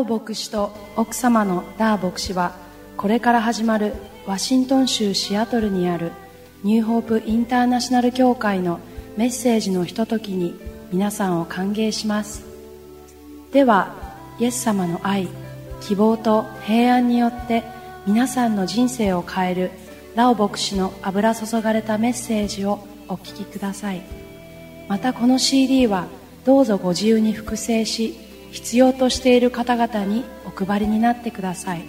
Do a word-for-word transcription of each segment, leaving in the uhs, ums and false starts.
牧師と奥様のダー牧師は、これから始まるワシントン州シアトルにあるニューホープインターナショナル教会のメッセージのひとときに皆さんを歓迎します。では、イエス様の愛、希望と平安によって皆さんの人生を変えるラオ牧師の油注がれたメッセージをお聞きください。またこの シーディー はどうぞご自由に複製し、必要としている方々にお配りになってください。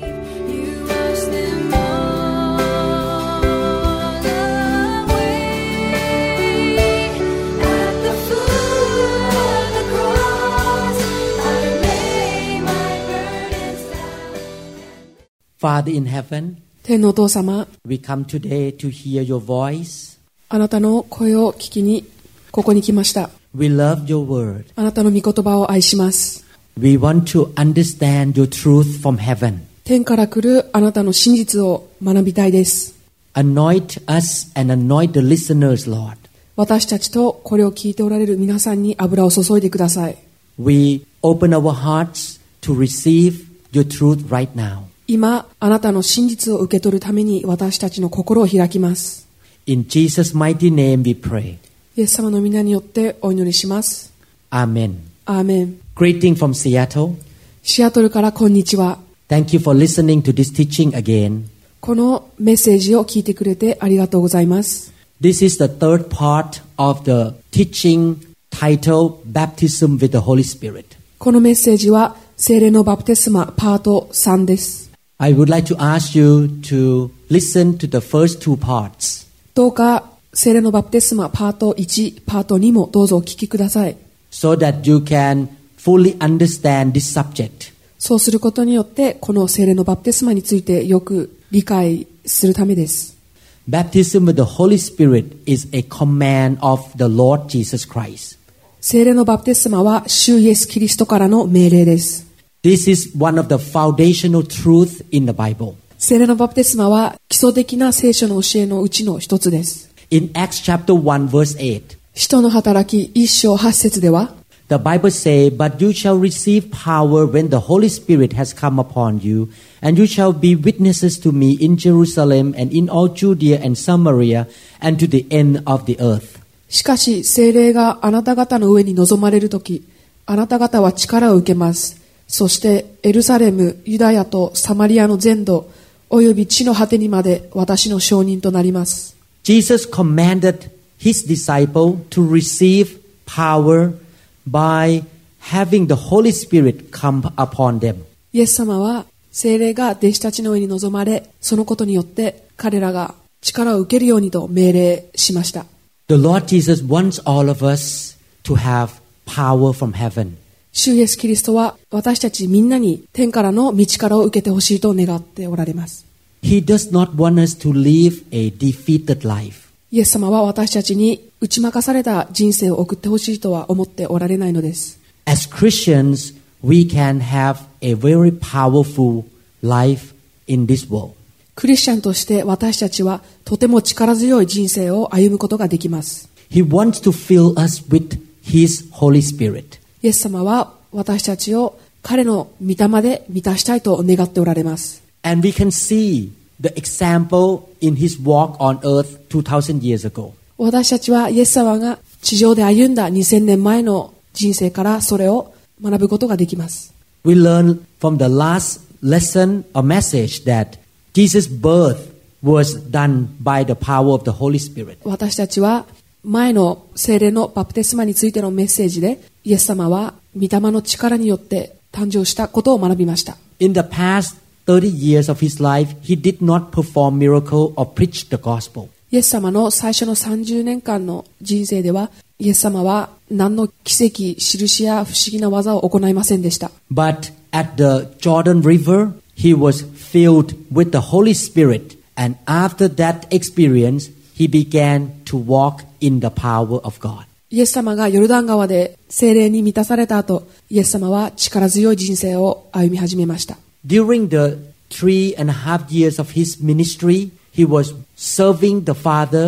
Father in heaven, 天のお父様、 we come today to hear your voice. あなたの声を聞きにここに来ました。 We love your word. あなたの御言葉を愛します。 We want to understand your truth from heaven. 天から来るあなたの真実を学びたいです。 Anoint us and anoint the listeners, Lord. 私たちとこれを聞いておられる皆さんに油を注いでください。 We open our hearts to receive your truth right now. 今あなたの真実を受け取るために私たちの心を開きます。 In Jesus' mighty name we pray. イエス様の皆によってお祈りします。 Amen. アーメン。 Greeting from Seattle. シアトルからこんにちは。 Thank you for listening to this teaching again. このメッセージを聞いてくれてありがとうございます。 This is the third part of the teaching titled Baptism with the Holy Spirit. このメッセージは聖霊のバプテスマパートさんです。 I would like to ask you to listen to the first two parts. どうか聖霊のバプテスマパートいち、パートにもどうぞお聞きください。 So that you can fully understand this subject. そうすることによってこの聖霊のバプテスマについてよく理解するためです。 Baptism with the Holy Spirit is a command of the Lord Jesus Christ. 聖霊のバプテスマは主イエスキリストからの命令です。 This is one of the foundational truths in the Bible. 聖霊のバプテスマは基礎的な聖書の教えのうちの一つです。 In Acts chapter one verse eight, 使徒の働き一章八節では、 the Bible says, But you shall receive power when the Holy Spirit has come upon you, and you shall be witnesses to me in Jerusalem and in all Judea and Samaria and to the end of the earth. しかし聖霊があなた方の上に臨まれるとき、あなた方は力を受けます。そしてエルサレム、ユダヤとサマリアの全土、および地の果てにまで私の証人となります。 Jesus commanded his disciple to receive power by having the Holy Spirit come upon them. イエス様は聖霊が弟子たちの上に臨まれ、そのことによって彼らが力を受けるようにと命令しました。 The Lord Jesus wants all of us to have power from heaven. 主イエスキリストは私たちみんなに天からの御力を受けてほしいと願っておられます。 He does not want us to live a defeated life. イエス様は私たちに打ち負かされた人生を送ってほしいとは思っておられないのです。 As Christians, we can have a very powerful life in this world. クリスチャンとして私たちはとても力強い人生を歩むことができます。 He wants to fill us with His Holy Spirit. イエス様は私たちを彼の御霊で満たしたいと願っておられます。 And we can see the example in His walk on earth two thousand years ago. 私たちはイエス様が地上で歩んだにせんねんまえの人生からそれを学ぶことができます。 We learn from the last lesson or message that Jesus' birth was done by the power of the Holy Spirit. 私たちは前の聖霊のバプテスマについてのメッセージでイエス様は御霊の力によって誕生したことを学びました。 In the past thirty years of his life, he did not perform miracle or preach the gospel. イエス様の最初のさんじゅうねんかんの人生ではイエス様は何の奇跡、印や不思議な技を行いませんでした。 But at the Jordan River, he was filled with the Holy Spirit, and after that experience, he began to walk in the power of God. イエス様がヨルダン川で聖霊に満たされた後、イエス様は力強い人生を歩み始めました。 During the three and a half years of his ministry, he was serving the Father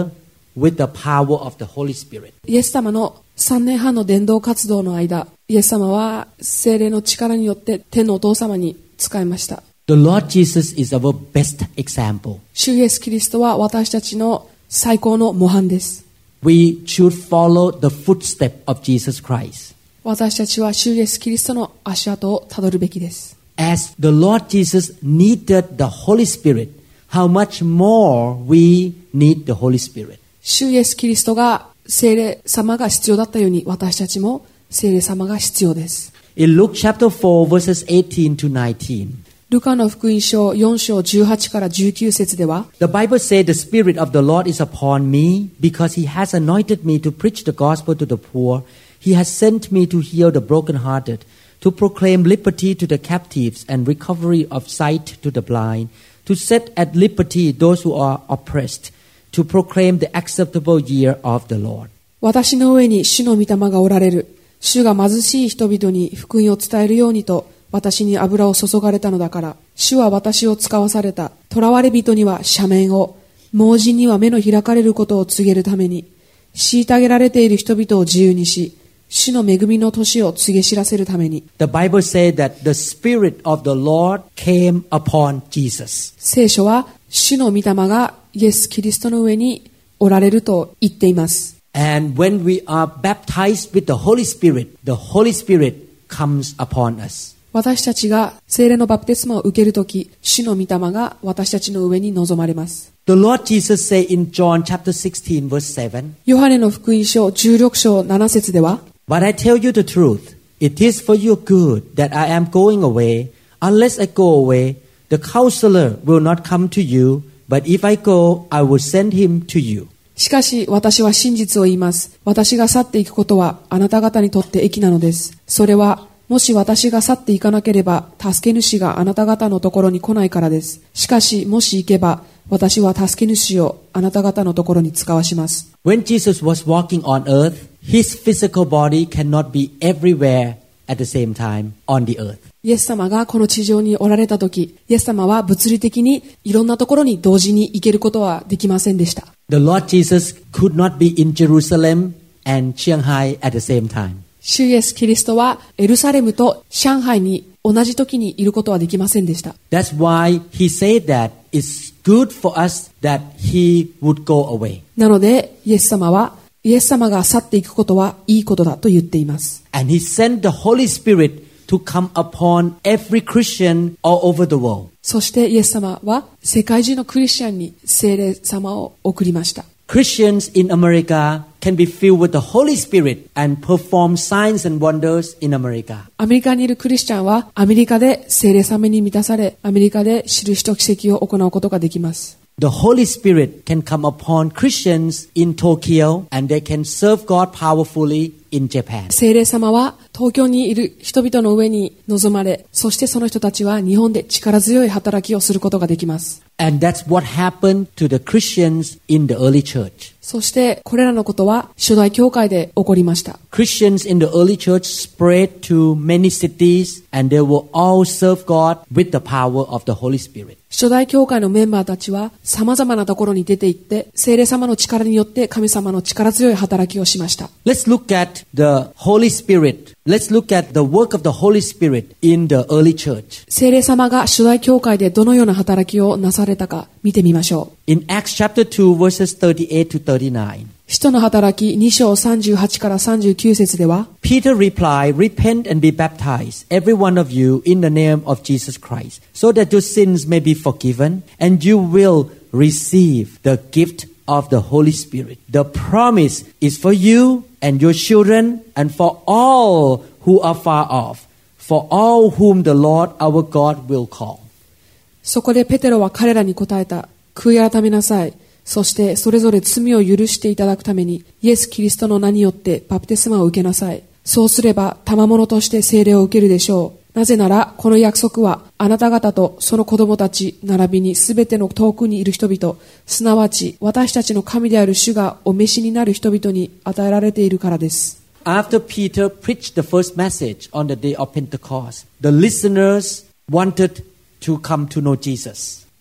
with the power of the Holy Spirit. イエス様のさんねんはんの伝道活動の間、イエス様は聖霊の力によって天のお父様に仕えました。 The Lord Jesus is our best example. 主イエスキリストは私たちの最高の模範です。 We should follow the footstep of Jesus Christ. 私たちは主イエスキリストの足跡をたどるべきです。 As the Lord Jesus needed the Holy Spirit, how much more we need the Holy Spirit. 主イエスキリストが聖霊様が必要だったように、私たちも聖霊様が必要です。 In Luke chapter four, verses eighteen to nineteen, ルカの福音書よん章じゅうはちからじゅうきゅう節では、 the Bible says, The Spirit of the Lord is upon me, because He has anointed me to preach the gospel to the poor. He has sent me to heal the brokenhearted, to proclaim liberty to the captives and recovery of sight to the blind, to set at liberty those who are oppressed, to proclaim the acceptable year of the Lord. 私の上に主の御霊がおられる。主が貧しい人々に福音を伝えるようにと私に油を注がれたのだから、主は私を使わされた。囚われ人には赦免を、盲人には目の開かれることを告げるために、虐げられている人々を自由にし、主の恵みの年を告げ知らせるために。 The Bible says that the Spirit of the Lord came upon Jesus. 聖書は主の御霊がイエス・キリストの上におられると言っています。 And when we are baptized with the Holy Spirit, the Holy Spirit comes upon us. 私たちが聖霊のバプテスマを受けるとき、主の御霊が私たちの上に臨まれます。 The Lord Jesus said in John chapter sixteen, verse seven, ヨハネの福音書じゅうろく章なな節では、 But I tell you the truth, it is for your good that I am going away. Unless I go away, the counselor will not come to you, but if I go, I will send him to you. しかし私は真実を言います。私が去っていくことはあなた方にとって益なのです。それはもし私が去っていかなければ、助け主があなた方のところに来ないからです。しかしもし行けば、私は助け主をあなた方のところに使わします。 When Jesus was walking on earth, his physical body cannot be everywhere at the same time on the earth. イエス様がこの地上におられたとき、イエス様は物理的にいろんなところに同時に行けることはできませんでした。 The Lord Jesus could not be in Jerusalem and Shanghai at the same time. 主イエスキリストはエルサレムと上海に同じ時にいることはできませんでした。 That's why he said that it's good for us that he would go away. なのでイエス様はイエス様が去っていくことはいいことだと言っています。 And he sent the Holy Spirit to come upon every Christian all over the world. そしてイエス様は世界中のクリスチャンに聖霊様を送りました。 Christians in America can be filled with the Holy Spirit and perform signs and wonders in America. アメリカにいるクリスチャンはアメリカで聖霊様に満たされ、アメリカで印と奇跡を行うことができます。 The Holy Spirit can come upon Christians in Tokyo and they can serve God powerfully in Japan. 聖霊様は東京にいる人々の上に臨まれ、そしてその人たちは日本で力強い働きをすることができます。 And that's what happened to the Christians in the early church. そしてこれらのことは初代教会で起こりました。 Christians in the early church spread to many cities and they will all serve God with the power of the Holy Spirit. 初代教会のメンバーたちは様々なところに出て行って聖霊様の力によって神様の力強い働きをしました。 Let's look at the Holy Spirit. Let's look at the work of the Holy Spirit in the early church. 聖霊様が初代教会でどのような働きをなされたか見てみましょう。 In Acts chapter two verses thirty-eight to thirty-nine. 使徒の働きに章さんじゅうはちからさんじゅうきゅう節では、 Peter replied, Repent and be baptized, every one of you, in the name of Jesus Christ, so that your sins may be forgiven, and you will receive the gift of the Holy Spirit. The promise is for you and your children, and for all who are far off, for all whom the Lord our God will call. そこでペテロは彼らに答えた。悔い改めなさい。そしてそれぞれ罪を許していただくためにイエス・キリストの名によってバプテスマを受けなさい。そうすれば賜物として聖霊を受けるでしょう。なぜならこの約束はあなた方とその子供たち並びにすべての遠くにいる人々、すなわち私たちの神である主がお召しになる人々に与えられているからです。 After Peter preached the first message on the day of Pentecost, the listeners wanted to come to know Jesus.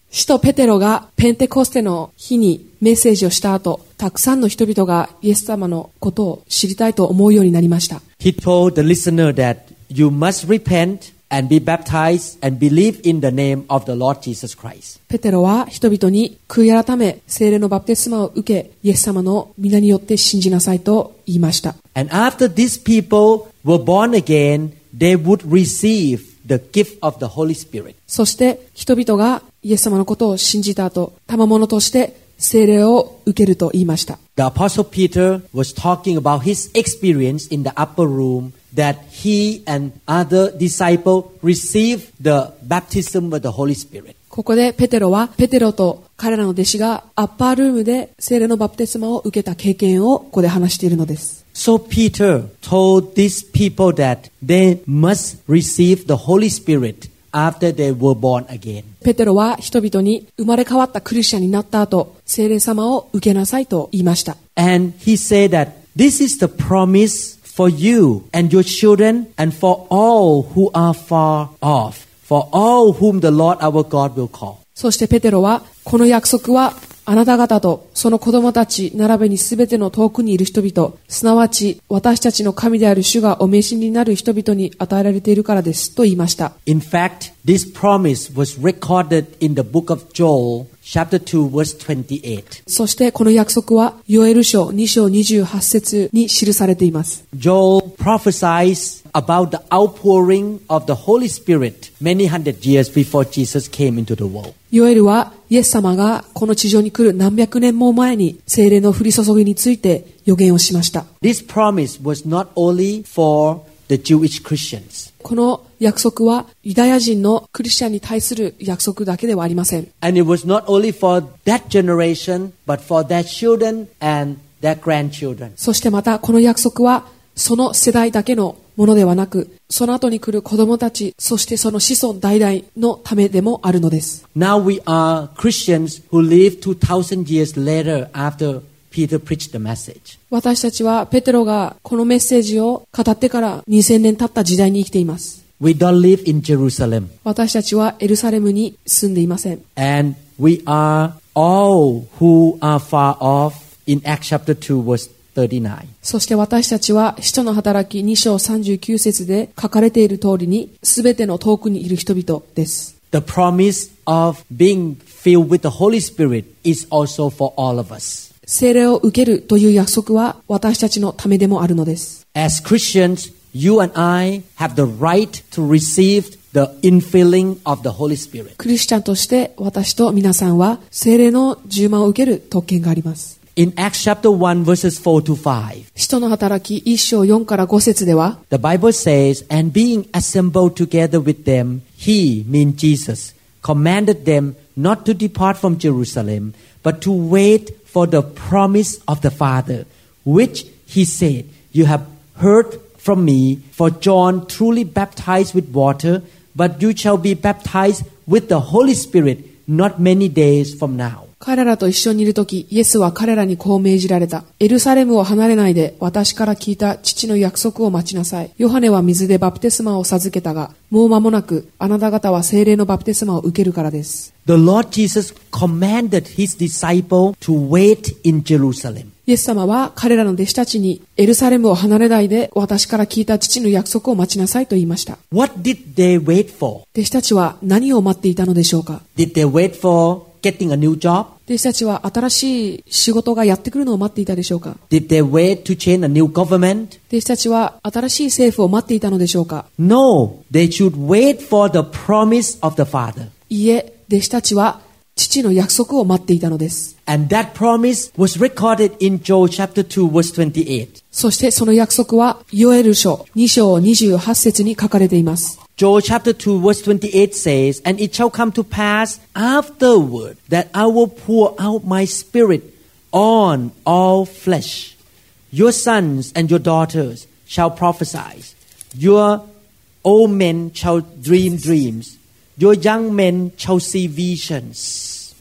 使徒ペテロがペンテコステの日にメッセージをした後、たくさんの人々がイエス様のことを知りたいと思うようになりました。 He told the listener that you must repent and be baptized and believe in the name of the Lord Jesus Christ. ペテロは人々に悔い改め、聖霊のバプテスマを受け、イエス様の皆によって信じなさいと言いました。 And after these people were born again, they would receive the gift of the Holy Spirit. そして人々がイエス様のことを信じた後、賜物として聖霊を受けると言いました。 The Apostle Peter was talking about his experience in the upper room that he and other disciples received the baptism of the Holy Spirit. ここでペテロはペテロと彼らの弟子がアッパールームで聖霊のバプテスマを受けた経験をここで話しているのです。 So Peter told these people that they must receive the Holy Spirit after they were born again. ペテロは人々に生まれ変わったクリスチャンになった後、聖霊様を受けなさいと言いました。 And he said that this is the promise for you and your children and for all who are far off, for all whom the Lord our God will call. そしてペテロはこの約束はあなた方とその子供たち並べにすべての遠くにいる人々、すなわち私たちの神である主がお召しになる人々に与えられているからですと言いました。 In fact, this promise was recorded in the book of Joel, chapter two, verse twenty-eight. そしてこの約束はヨエル書に章にじゅうはち節に記されています。 Joel prophesies about the outpouring of the Holy Spirit many hundred years before Jesus came into the world. ヨエルはイエス様がこの地上に来る何百年も前に聖霊の降り注ぎについて予言をしました。 This promise was not only for the Jewish Christians. この約束はユダヤ人のクリスチャンに対する約束だけではありません。 And it was not only for that generation, but for their children and their grandchildren. そしてまたこの約束はその世代だけのものではなく、その後に来る子供たち、そしてその子孫代々のためでもあるのです。 Now we are Christians who live two thousand years later after Peter preached the message. 私たちはペテロがこのメッセージを語ってからにせんねん経った時代に生きています。 We don't live in Jerusalem. 私たちはエルサレムに住んでいません。 And we are all who are far off in Acts chapter two verse thirty-nine. そして私たちは使徒の働きに章さんじゅうきゅう節で書かれている通りにすべての遠くにいる人々です。 The promise of being filled with the Holy Spirit is also for all of us. 聖霊を受けるという約束は私たちのためでもあるのです。 As Christians, you and I have the right to receive the infilling of the Holy Spirit. クリスチャンとして私と皆さんは聖霊の充満を受ける特権があります。 In Acts chapter one verses four to five, 使徒の働きいち章よんからご節では、 the Bible says, and being assembled together with them, he, mean Jesus, commanded them not to depart from Jerusalem, but to wait for the promise of the Father, which he said, you have heard from me, for John truly baptized with water, but you shall be baptized with the Holy Spirit not many days from now. 彼らと一緒にいるとき、イエスは彼らにこう命じられた。エルサレムを離れないで、私から聞いた父の約束を待ちなさい。ヨハネは水でバプテスマを授けたが、もう間もなく、あなた方は聖霊のバプテスマを受けるからです。 The Lord Jesus commanded his disciples to wait in Jerusalem. イエス様は彼らの弟子たちに、エルサレムを離れないで、私から聞いた父の約束を待ちなさいと言いました。 What did they wait for? 弟子たちは何を待っていたのでしょうか？ Did they wait for getting a new job? 弟子たちは新しい仕事がやってくるのを待っていたでしょうか？ Did they wait to change a new government? 弟子たちは新しい政府を待っていたのでしょうか？ No, they should wait for the promise of the Father. いいえ、弟子たちは父の約束を待っていたのです。 And that promise was recorded in Joel chapter two verse twenty-eight. そしてその約束はヨエル書に章にじゅうはち節に書かれています。 Joel chapter two verse twenty-eight says, and it shall come to pass afterward that I will pour out my spirit on all flesh. Your sons and your daughters shall prophesy. Your old men shall dream dreams. Your young men shall see visions.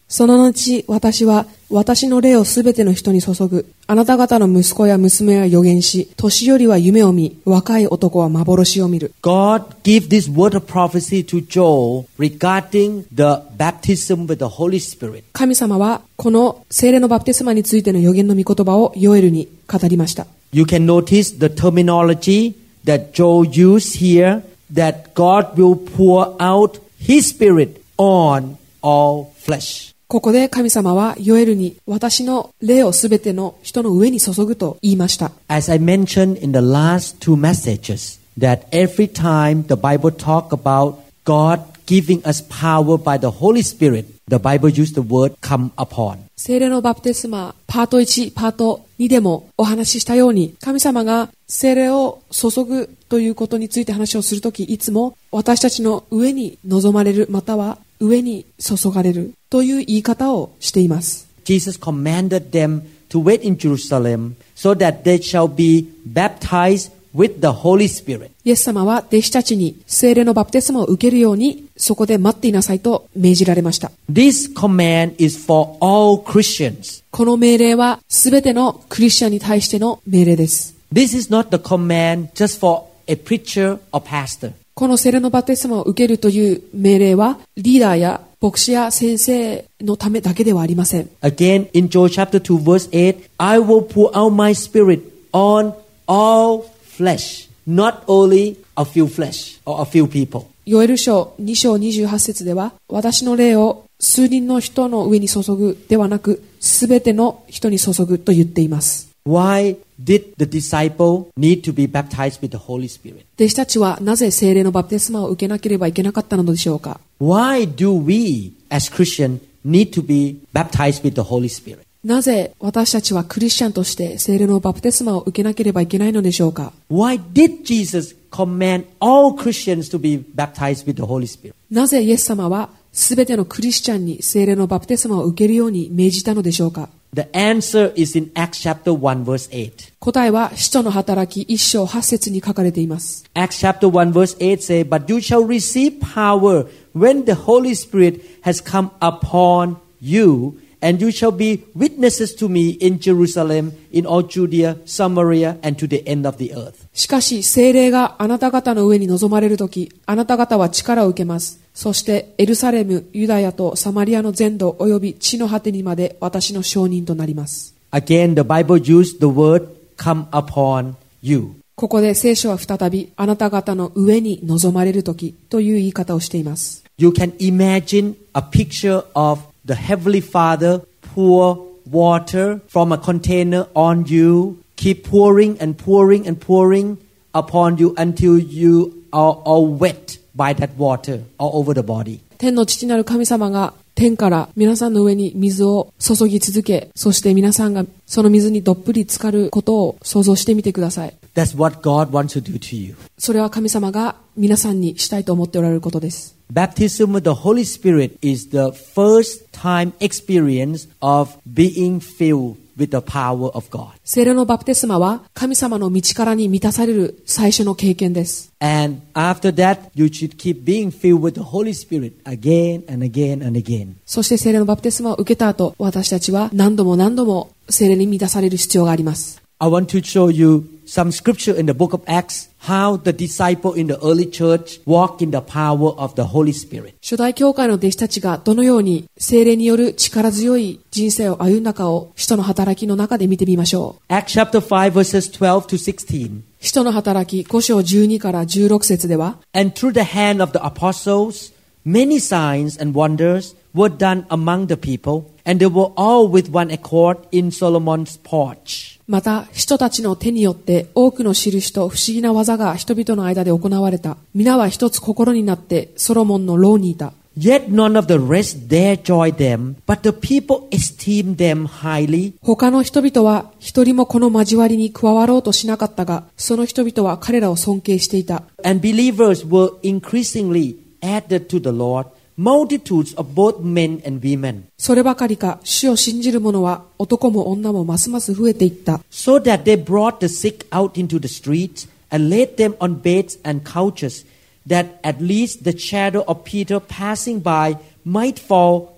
その後、私は私の霊をすべての人に注ぐ。あなた方の息子や娘は預言し、年寄りは夢を見、若い男は幻を見る。 God gave this word of prophecy to Joel regarding the baptism with the Holy Spirit. 神様はこの聖霊のバプテスマについての預言の御言葉をヨエルに語りました。 You can notice the terminology that Joel used here, that God will pour out His Spirit on all flesh. ここで神様はヨエルに私の霊をすべての人の上に注ぐと言いました。 As I mentioned in the last two messages, that every time the Bible talk about God giving us power by the Holy Spirit, the Bible used the word come upon. 聖霊のバプテスマパートいち、パートにでもお話ししたように、神様が聖霊を注ぐということについて話をするとき、いつも私たちの上に望まれる、または上に注がれるという言い方をしています。 Jesus commanded them to wait in Jerusalem so that they shall be baptized with the Holy Spirit. イエス様は弟子たちに聖霊のバプテスマを受けるようにそこで待っていなさいと命じられました。 This command is for all Christians. この命令はすべてのクリスチャンに対しての命令です。 This is not the command just for a preacher or pastor. この聖霊のバプテスマを受けるという命令はリーダーや牧師や先生のためだけではありません。 Again, in Joel chapter two verse eight, I will pour out my spirit on all flesh, not only a few flesh or a few people. ヨエル書に章にじゅうはち節では、私の霊を数人の人の上に注ぐではなく、すべての人に注ぐと言っています。 Why did the disciple need to be baptized with the Holy Spirit? 弟子たちはなぜ聖霊のバプテスマを受けなければいけなかったのでしょうか。 Why do we as Christians need to be baptized with the Holy Spirit? なぜ私たちはクリスチャンとして聖霊のバプテスマを受けなければいけないのでしょうか。 Why did Jesus command all Christians to be baptized with the Holy Spirit? なぜイエス様はすべてのクリスチャンに聖霊のバプテスマを受けるように命じたのでしょうか。 The answer is in Acts chapter one verse eight. 答えは使徒の働きいち章はち節に書かれています。 Acts chapter one verse eight say, But you shall receive power when the Holy Spirit has come upon you, and you shall be witnesses to me in Jerusalem, in all Judea, Samaria, and to the end of the earth. しかし聖霊があなた方の上に臨まれるとき、あなた方は力を受けます。そしてエルサレム、ユダヤとサマリアの全土および地の果てにまで私の証人となります。 Again, the Bible used the word come upon you. ここで聖書は再びあなた方の上に臨まれるときという言い方をしています。 You can imagine a picture of the Heavenly Father pour water from a container on you, keep pouring and pouring and pouring upon you until you are all wet by that water all over the body. 天の父なる神様が天から皆さんの上に水を注ぎ続け、そして皆さんがその水にどっぷり浸かることを想像してみてください。 That's what God wants to do to you. それは神様が皆さんにしたいと思っておられることです。 Baptism with the Holy Spirit is the first time experience of being filled with the power of God. 聖霊のバプテスマは神様の道からに満たされる最初の経験です。 And after that, you should keep being filled with the Holy Spirit again and again and again. そして聖霊のバプテスマを受けた後、私たちは何度も何度も聖霊に満たされる必要があります。 I want to show you some scripture in the book of Acts, how the disciple in the early church walk in the power of the Holy Spirit. 初代教会の弟子たちがどのように聖霊による力強い人生を歩んだかを使徒の働きの中で見てみましょう。 Acts chapter five verses twelve to sixteen. 使徒の働きご章じゅうにからじゅうろく節では、 And through the hand of the apostles, many signs and wonders were done among the people, and they were all with one accord in Solomon's porch. また人たちの手によって多くの印と不思議な技が人々の間で行われた。皆は一つ心になってソロモンの牢にいた。 Yet none of the rest dare join them, but the people esteemed them highly. 他の人々は一人もこの交わりに加わろうとしなかったが、その人々は彼らを尊敬していた。 And believers were increasingly added to the Lord.Multitudes of both men and women. そればかりか、主を信じる者は男も女もますます増えていった。 So that they brought the sick out into the streets and laid them on beds and couches, that at least the shadow of Peter passing by might fall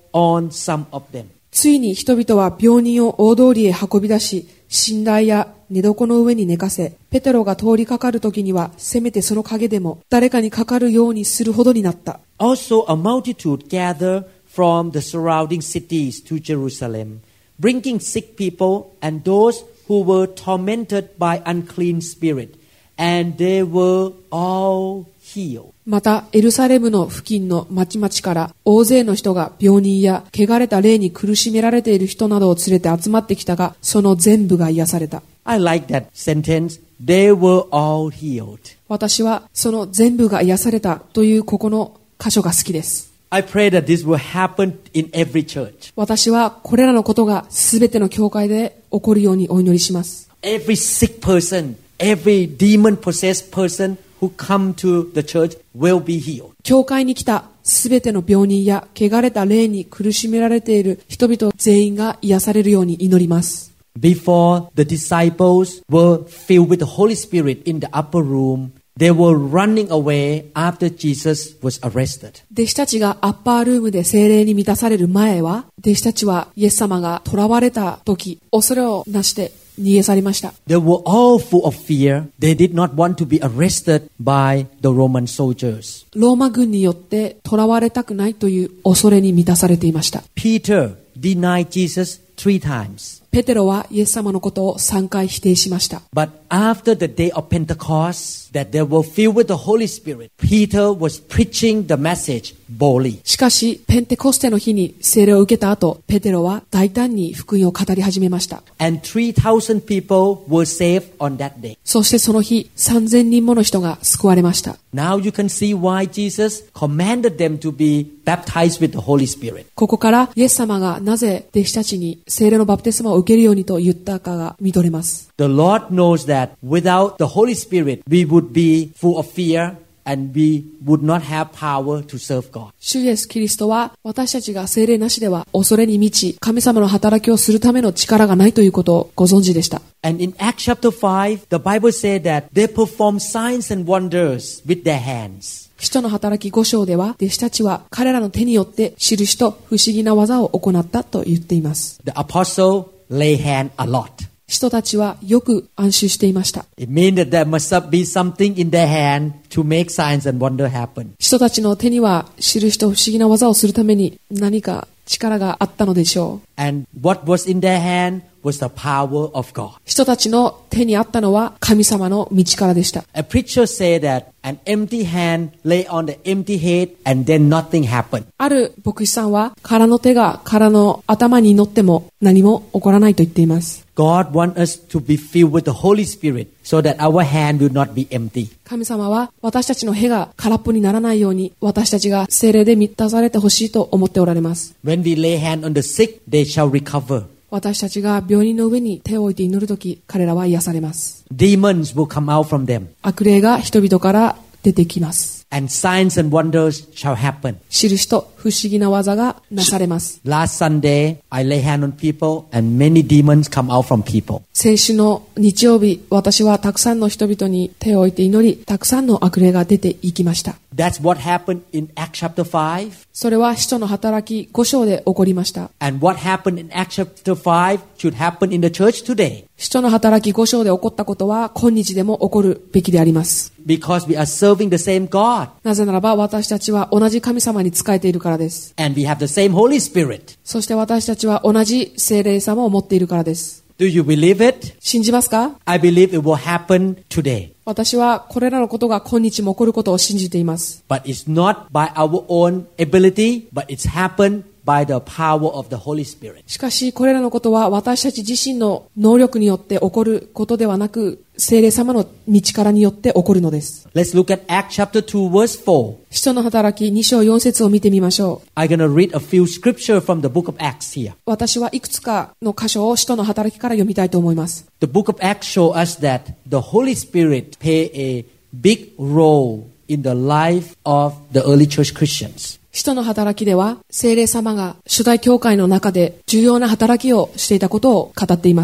on some of them. ついに人々は病人を大通りへ運び出し、寝台や寝床の上に寝かせ、ペテロが通りかかるときには、せめてその影でも誰かにかかるようにするほどになった。 Also, a multitude gathered from the surrounding cities to Jerusalem, bringing sick people and those who were tormented by unclean spirit, and they were all healed. また、エルサレムの付近の町々から大勢の人が病人や汚れた霊に苦しめられている人などを連れて集まってきたが、その全部が癒された。 I like that sentence. They were all healed. 私はその全部が癒されたというここの箇所が好きです。 I pray that this will happen in every church. 私はこれらのことがすべての教会で起こるようにお祈りします。 Every sick person, every demon-possessed person who come to the church will be healed. 教会に来たすべての病人や汚れた霊に苦しめられている人々全員が癒されるように祈ります。 Before the disciples were filled with the Holy Spirit in the upper room, they were running away after Jesus was arrested. 弟子たちがアッパールームで聖霊に満たされる前は、弟子たちはイエス様が囚われた時、恐れをなして逃げ去りました。 They were all full of fear. They did not want to be arrested by the Roman soldiers. ローマ軍によって囚われたくないという恐れに満たされていました。 Peter denied Jesus three times. ペテロはイエス様のことをさんかい否定しました。 But after the day of Pentecost, that they were filled with the Holy Spirit, Peter was preaching the message boldly. しかし、ペンテコステの日に聖霊を受けた後、ペテロは大胆に福音を語り始めました。 And three thousand people were saved on that day. そしてその日、さんぜんにんもの人が救われました。 Now you can see why Jesus commanded them to be baptized with the Holy Spirit. ここからイエス様がなぜ弟子たちに聖霊のバプテスマを受けるようにと言ったかが見とれます。 The Lord knows that without the Holy Spirit, we would be full of fear and we would not have power to serve God. 主イエスキリストは私たちが聖霊なしでは恐れに満ち、神様の働きをするための力がないということをご存知でした。 And in Acts chapter five, the Bible said that they performed signs and wonders with their hands. 使徒の働きご章では、弟子たちは彼らの手によって印と不思議な技を行ったと言っています。 The apostle lay hand a lot. 使徒たちはよく暗習していました。 It means that there must be something in their hand to make signs and wonder happen. 使徒たちの手には印と不思議な技をするために何か力があったのでしょう。 And what was in their hand was the power of God. 人たちの手にあったのは神様の道からでした。 A preacher said that an empty hand lay on the empty head and then nothing happened. ある牧師さんは空の手が空の頭に乗っても何も起こらないと言っています。 God wants us to be filled with the Holy Spirit so that our hand will not be empty. 神様は私たちの手が空っぽにならないように私たちが聖霊で満たされてほしいと思っておられます。 When we lay hand on the sick, they shall recover. 私たちが病人の上に手を置いて祈るとき、彼らは癒されます。 Demons will come out from them. 悪霊が人々から出てきます。 And signs and wonders shall happen. 印と不思議な技がなされます。 Last Sunday, I lay hand on people and many demons come out from people. 先週の日曜日、私はたくさんの人々に手を置いて祈り、たくさんの悪霊が出ていきました。 That's what happened in Acts chapter five. それは使徒の働きご章で起こりました。 And what happened in Acts chapter five should happen in the church today. 使徒の働きご章で起こったことは今日でも起こるべきであります。 Because we are serving the same God. なぜならば私たちは同じ神様に仕えているからです。 And we have the same Holy Spirit. そして私たちは同じ聖霊様を持っているからです。 Do you believe it? 信じますか？ I believe it will happen today. 私はこれらのことが今日も起こることを信じています。 But it's not by our own ability, but it's happened by the power of the Holy Spirit. しかしこれらのことは私たち自身の能力によって起こることではなく、聖霊様の道からによって起こるのです。 Let's look at Acts chapter two verse four. 使徒の働きに章よん節を見てみましょう。 I'm going to read a few scripture from the book of Acts here. 私はいくつかの箇所を使徒の働きから読みたいと思います。 The book of Acts shows us that the Holy Spirit play a big role in the life of the early church Christians. 使徒の働きでは聖霊様が初代教会の中で重要な働きをしていたことを語っています。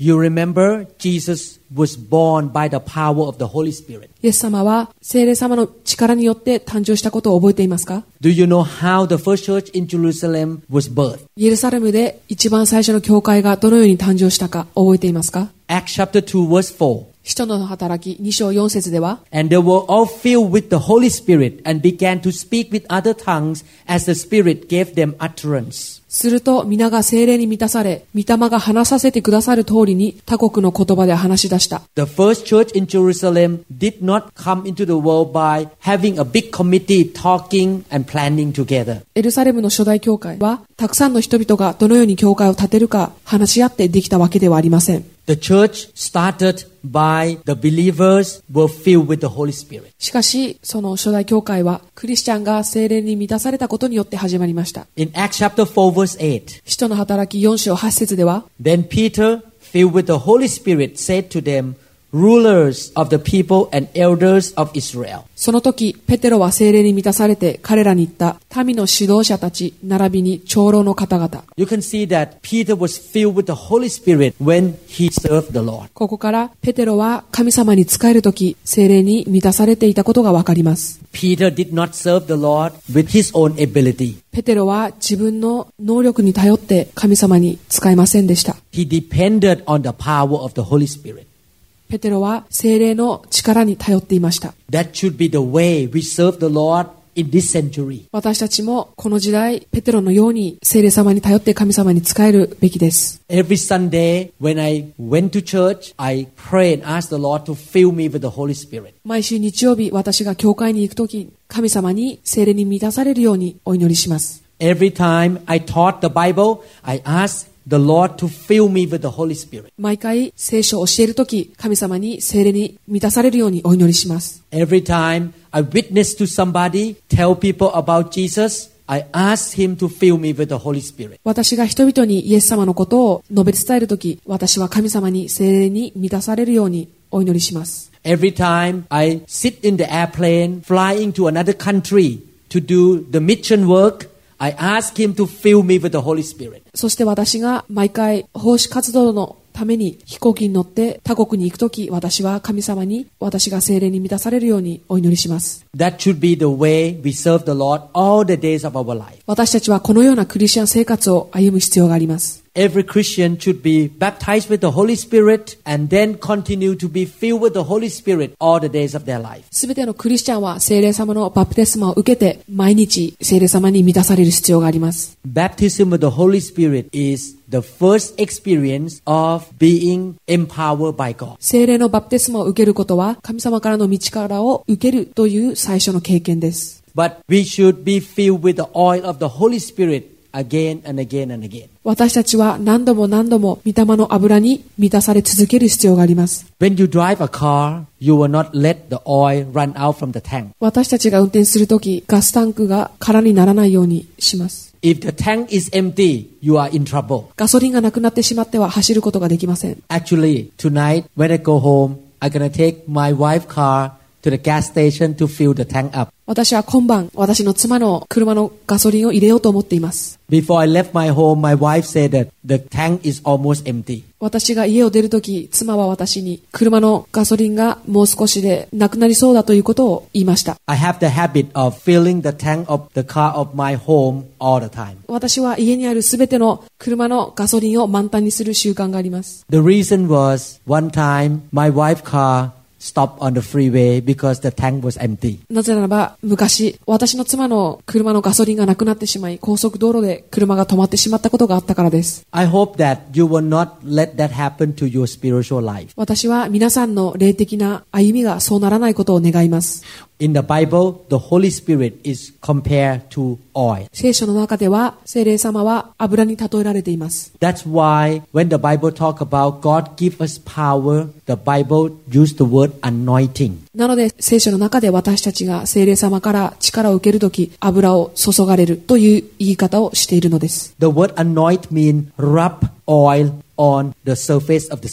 You remember Jesus was born by the power of the Holy Spirit. イエス様は聖霊様の力によって誕生したことを覚えていますか？ Do you know how the first church in Jerusalem was birthed? イエルサレムで一番最初の教会がどのように誕生したか覚えていますか？ Acts chapter two verse four. 使徒の働きに章よん節では、 And they were all filled with the Holy Spirit and began to speak with other tongues as the Spirit gave them utterance. すると皆が聖霊に満たされ、御霊が話させてくださる通りに他国の言葉で話し出した。 The first church in Jerusalem did not come into the world by having a big committee talking and planning together. エルサレムの初代教会は、たくさんの人々がどのように教会を建てるか話し合ってできたわけではありません。 The church started by the believers were filled with the Holy Spirit. しかし、その初代教会は、クリスチャンが聖霊に満たされたことによって始まりました。 In Acts chapter four verse eight, 使徒の働きよん章はち節では、 Then Peter, filled with the Holy Spirit, said to them, Rulers of the people and elders of Israel. その時、ペテロは聖霊に満たされて彼らに言った、民の指導者たち、並びに長老の方々。 You can see that Peter was filled with the Holy Spirit when he served the Lord. ここから、ペテロは神様に仕える時、聖霊に満たされていたことがわかります。 Peter did not serve the Lord with his own ability. ペテロは自分の能力に頼って神様に仕えませんでした。 He depended on the power of the Holy Spirit. ペテロは聖霊の力に頼っていました。 That should be the way we serve the Lord in this century. 私たちもこの時代、ペテロのように聖霊様に頼って神様に仕えるべきです。 Every Sunday when I went to church, I pray and ask the Lord to fill me with the Holy Spirit. 毎週日曜日、私が教会に行くとき、神様に聖霊に満たされるようにお祈りします。 Every time I taught the Bible, I ask the Lord to fill me with the Holy Spirit. 毎回聖書を教えるとき、神様に聖霊に満たされるようにお祈りします。 Every time I witness to somebody, tell people about Jesus, I ask him to fill me with the Holy Spirit. 私が人々にイエス様のことを述べ伝えるとき、私は神様に聖霊に満たされるようにお祈りします。 Every time I sit in the airplane flying to another country to do the mission work, I ask him to fill me with the Holy Spirit. そして私が毎回奉仕活動のために飛行機に乗って他国に行くとき、私は神様に私が聖霊に満たされるようにお祈りします。 That should be the way we serve the Lord all the days of our life. 私たちはこのようなクリスチャン生活を歩む必要があります。 Every Christian should be baptized with the Holy Spirit and then continue to be filled with the Holy Spirit all the days of their life. すべてのクリスチャンは聖霊様のバプテスマを受けて毎日聖霊様に満たされる必要があります。 Baptism of the Holy Spirit is the first experience of being empowered by God. 聖霊のバプテスマを受けることは神様からの道からを受けるという最初の経験です。 But we should be filled with the oil of the Holy Spirit again and again and again. 私たちは何度も何度も御霊の油に満たされ続ける必要があります。 When you drive a car, you will not let the oil run out from the tank. 私たちが運転するとき、ガスタンクが空にならないようにします。 If the tank is empty, you are in trouble. ガソリンがなくなってしまっては走ることができません。 Actually, tonight when I go home, I'm gonna take my wife's car to the gas station to fill the tank up. 私は今晩、私の妻の車のガソリンを入れようと思っています。 Before I left my home, my wife said that the tank is almost empty. 私が家を出るとき、妻は私に車のガソリンがもう少しでなくなりそうだということを言いました。 I have the habit of filling the tank of the car of my home all the time. 私は家にあるすべての車のガソリンを満タンにする習慣があります。 The reason was one time my wife's car stopped on the freeway because the tank was empty. なぜならば昔私の妻の車のガソリンがなくなってしまい高速道路で車が止まってしまったことがあったからです。 I hope that you will not let that happen to your spiritual life. 私は皆さんの霊的な歩みがそうならないことを願います。 In the Bible, the Holy Spirit is compared to oil. 聖書の中では聖霊様は油に例えられています。 That's why when the Bible talk about God give us power, the Bible use the word anointing. なので聖書の中で私たちが聖霊様から力を受けるとき油を注がれるという言い方をしているのです。 The word anoint means rub oil on the surface of the skin.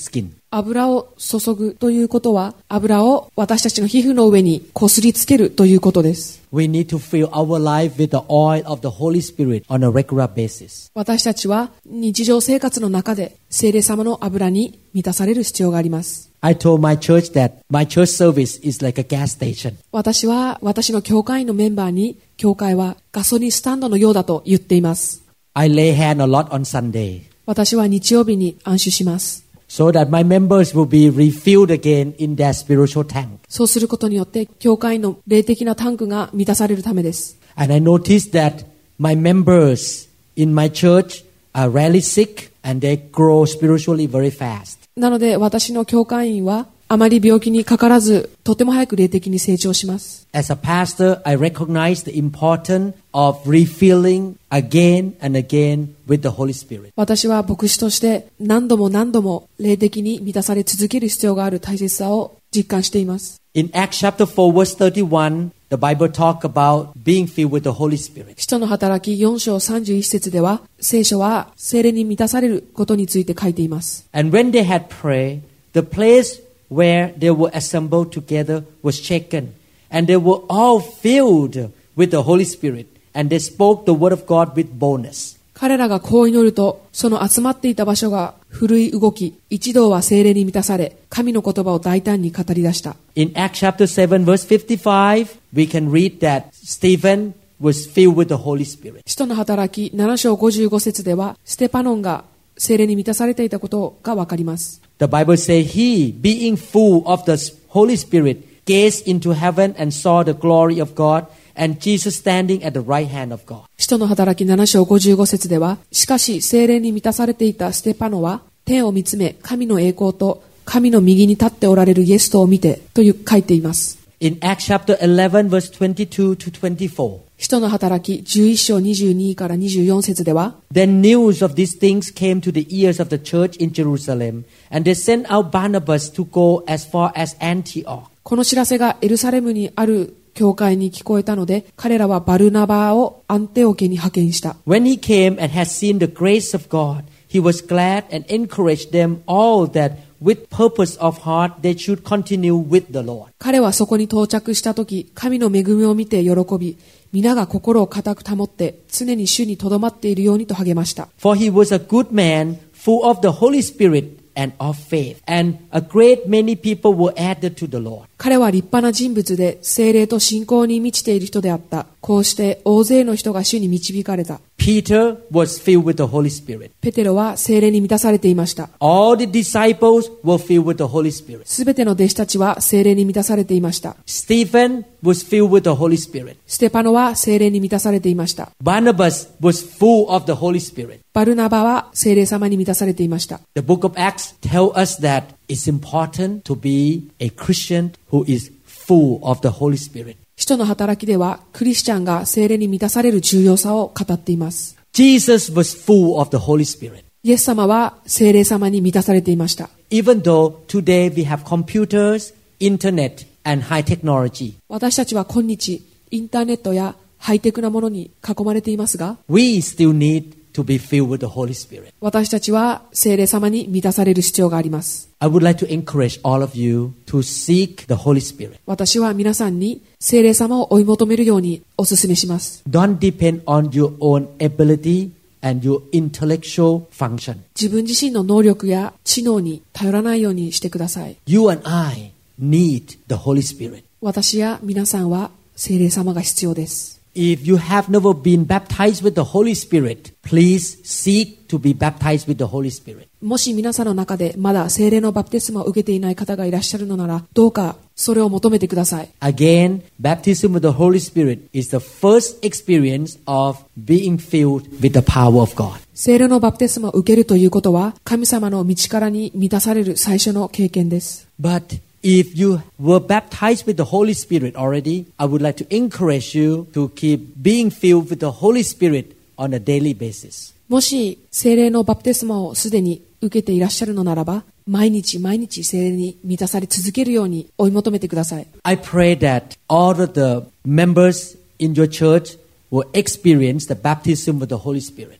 油を注ぐということは、油を私たちの皮膚の上にこすりつけるということです。 We need to fill our life with the oil of the Holy Spirit on a regular basis. 私たちは日常生活の中で聖霊様の油に満たされる必要があります。 I told my church that my church service is like a gas station. 私は私の教会のメンバーに、教会はガソリンスタンドのようだと言っています。 I lay hand a lot on Sunday. 私は日曜日に安守します。 So that my members will be refilled again in their spiritual tank. そうすることによって、教会の霊的なタンクが満たされるためです。 And I noticed that my members in my church are rarely sick and they grow spiritually very fast. なので、私の教会員はあまり病気にかからず、とても早く霊的に成長します。 As a pastor, I recognize the importance of refilling again and again with the Holy Spirit. 私は牧師として何度も何度も霊的に満たされ続ける必要がある大切さを実感しています。 In Acts chapter four verse thirty-one, the Bible talk about being filled with the Holy Spirit. 使徒の働きよん章さんじゅういち節では、聖書は聖霊に満たされることについて書いています。 And when they had prayed, the place where they were assembled together was shaken, and they were all filled with the Holy Spirit, and they spoke the word of God with boldness. 彼らがこう祈ると、その集まっていた場所が震い動き、一同は聖霊に満たされ、神の言葉を大胆に語り出した。 In Acts chapter seven verse fifty-five, we can read that Stephen was filled with the Holy Spirit. 使徒の働きなな章ごじゅうご節では、ステパノンが聖霊に満たされていたことがわかります。 The Bible says, he, being full of the Holy Spirit, gazed into heaven and saw the glory of God and Jesus standing at the right hand of God. 使徒の働きなな章ごじゅうご節では、しかし聖霊に満たされていたステパノは、天を見つめ、神の栄光と神の右に立っておられるイエスとを見て、という書いています。 In Acts chapter eleven verse twenty-two to twenty-four, 使徒の働きじゅういち章にじゅうにからにじゅうよん節では、 then news of these things came to the ears of the church in Jerusalem, and they sent out Barnabas to go as far as Antioch. この知らせがエルサレムにある教会に聞こえたので、彼らはバルナバをアンテオケに派遣した。 When he came and had seen the grace of God, he was glad and encouraged them all that with purpose of heart they should continue with the Lord. 彼はそこに到着したとき、神の恵みを見て喜び、皆が心を固く保って常に主にとどまっているようにと励ました。 For he was a good man, full of the Holy Spirit and of faith, and a great many people were added to the Lord. 彼は立派な人物で、聖霊と信仰に満ちている人であった。こうして大勢の人が主に導かれた。 Peter was filled with the Holy Spirit. ペテロは聖霊に満たされていました。 All the disciples were filled with the Holy Spirit. すべての弟子たちは聖霊に満たされていました。 Stephen was filled with the Holy Spirit. ステパノは聖霊に満たされていました。 Barnabas was full of the Holy Spirit. バルナバは聖霊様に満たされていました。 The book of Acts tells us that it's important to be a Christian who is full of the Holy Spirit. 使徒の働きでは、クリスチャンが聖霊に満たされる重要さを語っています。 Jesus was full of the Holy Spirit. イエス様は聖霊様に満たされていました。 Even though today we have computers, internet, and high technology, 私たちは今日、インターネットやハイテクなものに囲まれていますが、 we still need to be filled with the Holy Spirit. 私たちは聖霊様に満たされる必要があります。 I would like to encourage all of you to seek the Holy Spirit. 私は皆さんに聖霊様を追い求めるようにお勧めします。 Don't depend on your own ability and your intellectual function. 自分自身の能力や知能に頼らないようにしてください。 You and I need the Holy Spirit. 私や皆さんは聖霊様が必要です。 If you have never been baptized with the Holy Spirit, please seek to be baptized with the Holy Spirit. もし皆さんの中でまだ聖霊のバプテスマを受けていない方がいらっしゃるのなら、どうかそれを求めてください。 Again, baptism with the Holy Spirit is the first experience of being filled with the power of God. 聖霊のバプテスマを受けるということは、神様の道からに満たされる最初の経験です。 But if you were baptized with the Holy Spirit already, I would like to encourage you to keep being filled with the Holy Spirit on a daily basis. もし聖霊のバプテスマをすでに受けていらっしゃるのならば、毎日毎日聖霊に満たされ続けるように追い求めてください。 I pray that all of the members in your church will experience the baptism with the Holy Spirit.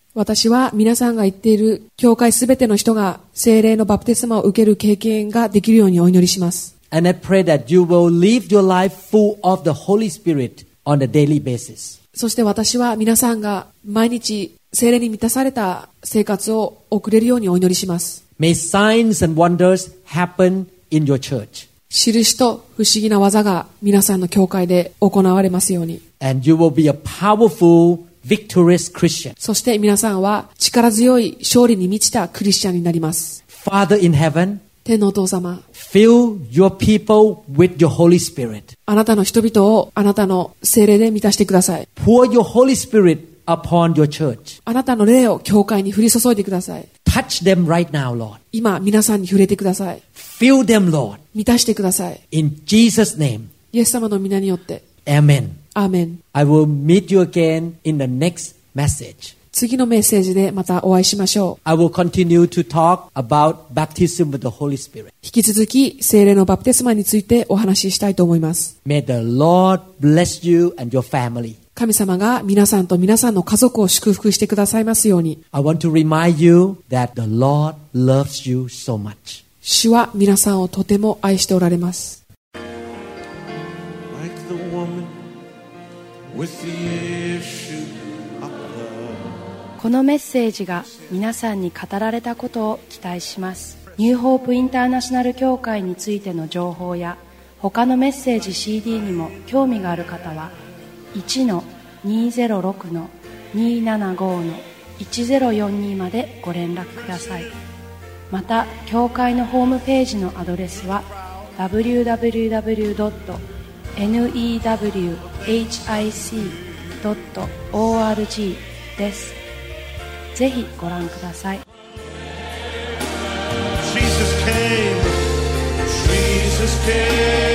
私は皆さんが言っている教会すべての人が聖霊のバプテスマを受ける経験ができるようにお祈りします。 And I pray that you will live your life full of the Holy Spirit on a daily basis. そして私は皆さんが毎日聖霊に満たされた生活を送れるようにお祈りします。 May signs and wonders happen in your church. 印と不思議な技が皆さんの教会で行われますように。 And you will be a powerful, victorious Christian. そして皆さんは力強い勝利に満ちたクリスチャンになります。 Father in heaven, 天のお父様、 fill your people with your Holy Spirit. あなたの人々をあなたの聖霊で満たしてください。 Pour your Holy Spirit upon your church. あなたの霊を教会に降り注いでください。 Touch them right now, Lord. 今皆さんに触れてください。 Fill them, Lord. 満たしてください。 In Jesus' name. イエス様の皆によって。 Amen. アーメン。 I will meet you again in the next message. 次のメッセージでまたお会いしましょう。 I will continue to talk about baptism with the Holy Spirit. 引き続き聖霊のバプテスマについてお話ししたいと思います。 May the Lord bless you and your family. 神様が皆さんと皆さんの家族を祝福してくださいますように。 I want to remind you that the Lord loves you so much. 主は皆さんをとても愛しておられます。 Like the woman with the issue of blood. このメッセージが皆さんに語られたことを期待します。ニューホープインターナショナル協会についての情報や他のメッセージ シーディー にも興味がある方は いちのにゼロろくのにーななごのいちゼロよんに までご連絡ください。また教会のホームページのアドレスは ダブリューダブリューダブリュードットニューダブリューエイチアイシードットオーアールジー です。ぜひご覧ください。 Jesus came, Jesus came.